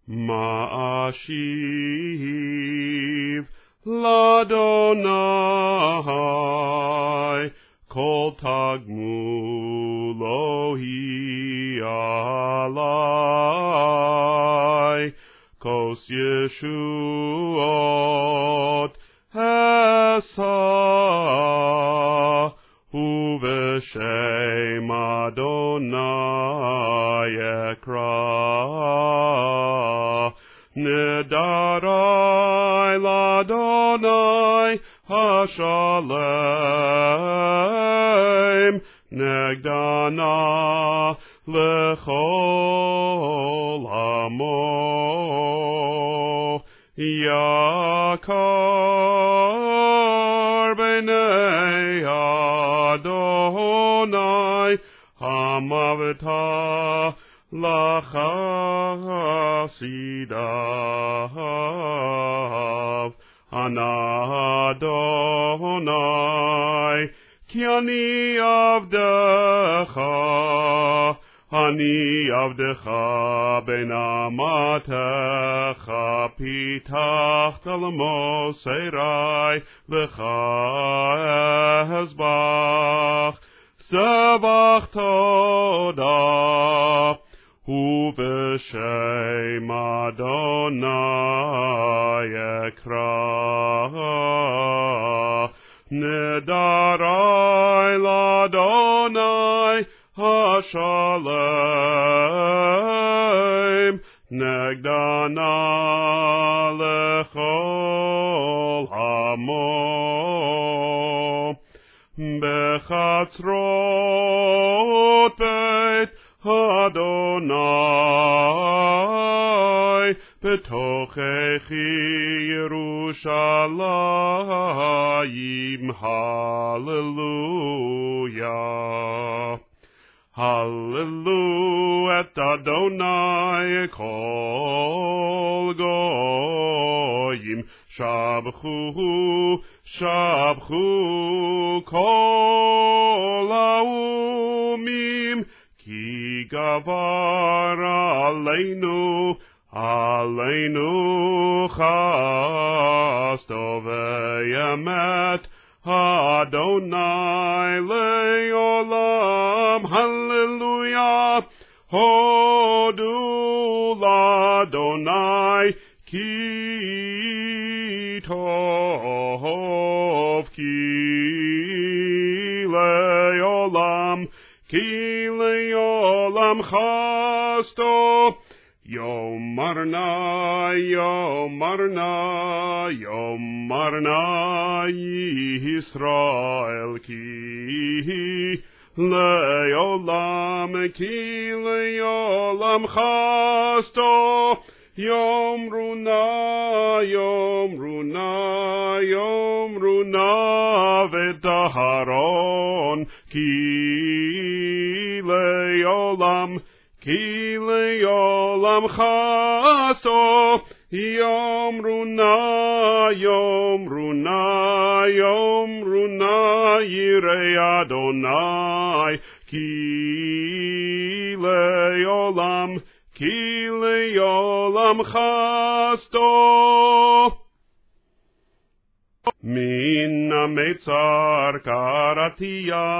Ma'ashiv l'Adonai kol tagmulohi alai kos Yeshuot esa uv'shem Adonai ekra nedarai l'Adonai hashalem negdana lechol amo yakar b'nei Adonai hamavta lachasidav Adonai ki ani avdecha ben amatecha pitachta l'moserai lecha ezbach sebach todah uv'shem Adonai ekra nedarai l'Adonai hashalem negdana lechol amo bechatzrot beit Adonai betochechi Yerushalayim hallelujah hallelujah et Adonai kol goyim shabchu shabchu kol haumim ki gavar aleinu chasto ve'emet Adonai le'olam hallelujah hodu l'Adonai ki tov ki le'olam chasto Yomarna Yisrael ki le'olam chasto Yomruna v'daharon ki le'olam chasto Yomruna yirei Adonai ki le'olam chasto min ha'metzar karatiya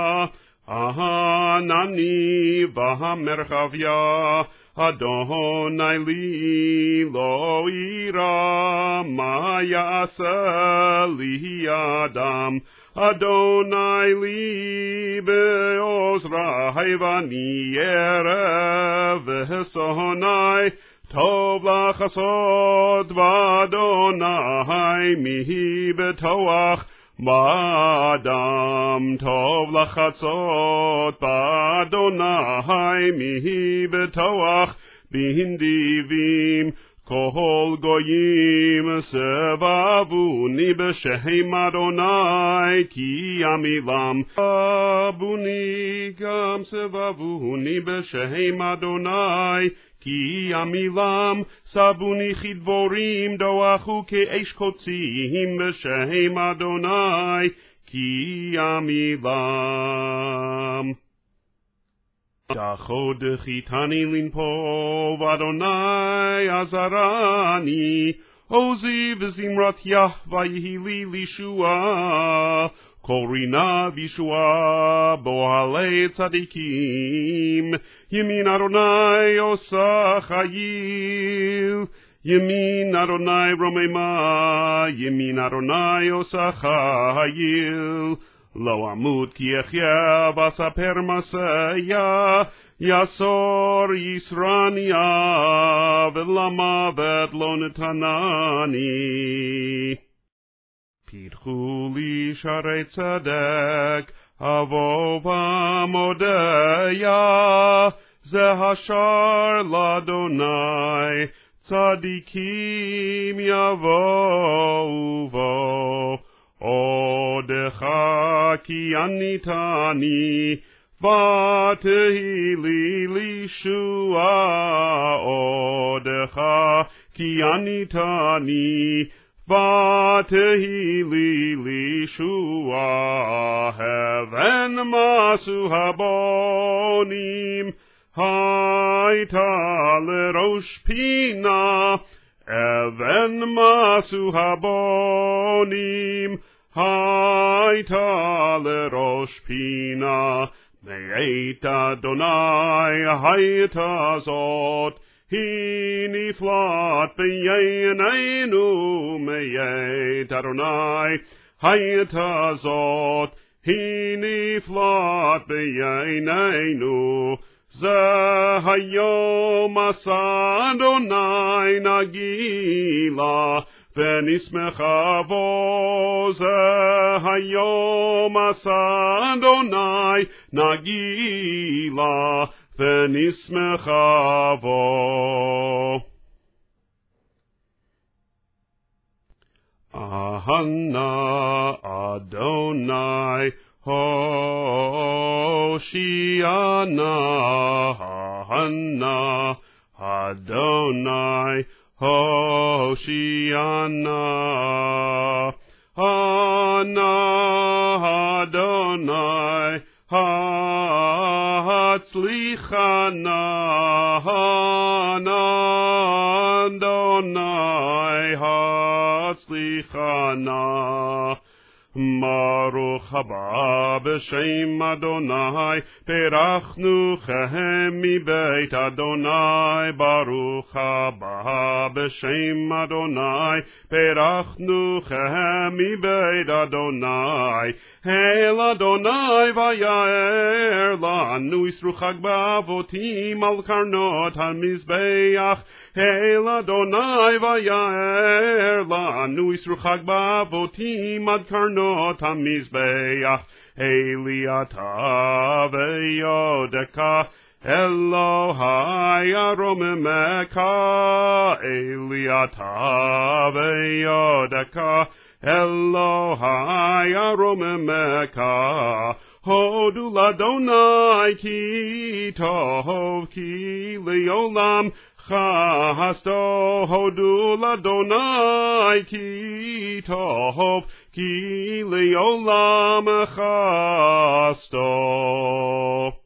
Ahanani v'hamerchavya Adonai li lo ira ma ya'aseh li adam Adonai li be'ozrai v'ani erev v'hesonai Tov lachasod v'Adonai mihi betoach Ba'adam tov lachatzot ba'Adonai mihi betoach b'hindivim kol goyim sebavuni b'shem Adonai ki amilam abuni gam sebavuni b'shem Adonai Ki amilam sabuni chidvorim doachu ke'esh kotzim b'shem Adonai ki amilam. Dachod chitani linpov Adonai azarani Ozi v'zimrat Yahva yihili lishua Korina vishua bohale tzadikim Yemin Adonai osa chayil Yemin Adonai romema Yemin Adonai osa chayil Lo amut ki echya vasaper masaya Yasor Yisrania V'lama vet lo netanani Pidchu li sharei tzedek Avov amodeya Zehashar ladonai Tzadikim yavou vo Odecha ki anitani Vatehi li lishua Odecha ki anitani Vatehi li lishua Heaven masu habonim Haita lerosh pina Even masu habonim Haita lerosh pina Me'et Adonai haita zot Hini flat b'yeneinu Me'et Adonai haita zot Hini flat b'yeneinu Zehayom asa Adonai nagila V'nismecha vo Zehayom asa Adonai nagila V'nismecha vo Ahana Adonai Hoshiana, Hana, Adonai, Hoshiana, Hana, Adonai, Hatzlichana, Hana, Adonai, Hatzlichana. Baruch haba b'shem Adonai, perachnu chem mi beit Adonai. Baruch haba b'shem Adonai, perachnu chem mi beit Adonai. Hail Adonai v'yaer lanu yisru chag ba'avotim al karnot hamizbeach. Hail Adonai v'yaer lanu yisru chag ba'avotim ad karnot hamizbeach. Eliata ve'yodeka Elohai aromemeka. Eliata ve'yodeka Elohai aromemeka. Hodu ladonai ki tov ki leolam chasto. Hodu ladonai ki tov ki leolam chasto.